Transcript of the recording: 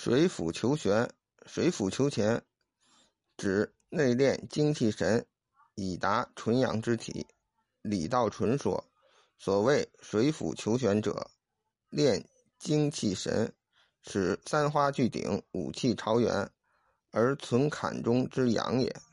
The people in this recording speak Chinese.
水府求玄，水府求潜，指内练精气神，以达纯阳之体。李道纯说，所谓水府求玄者，练精气神，使三花聚顶，五气朝元，而存坎中之阳也。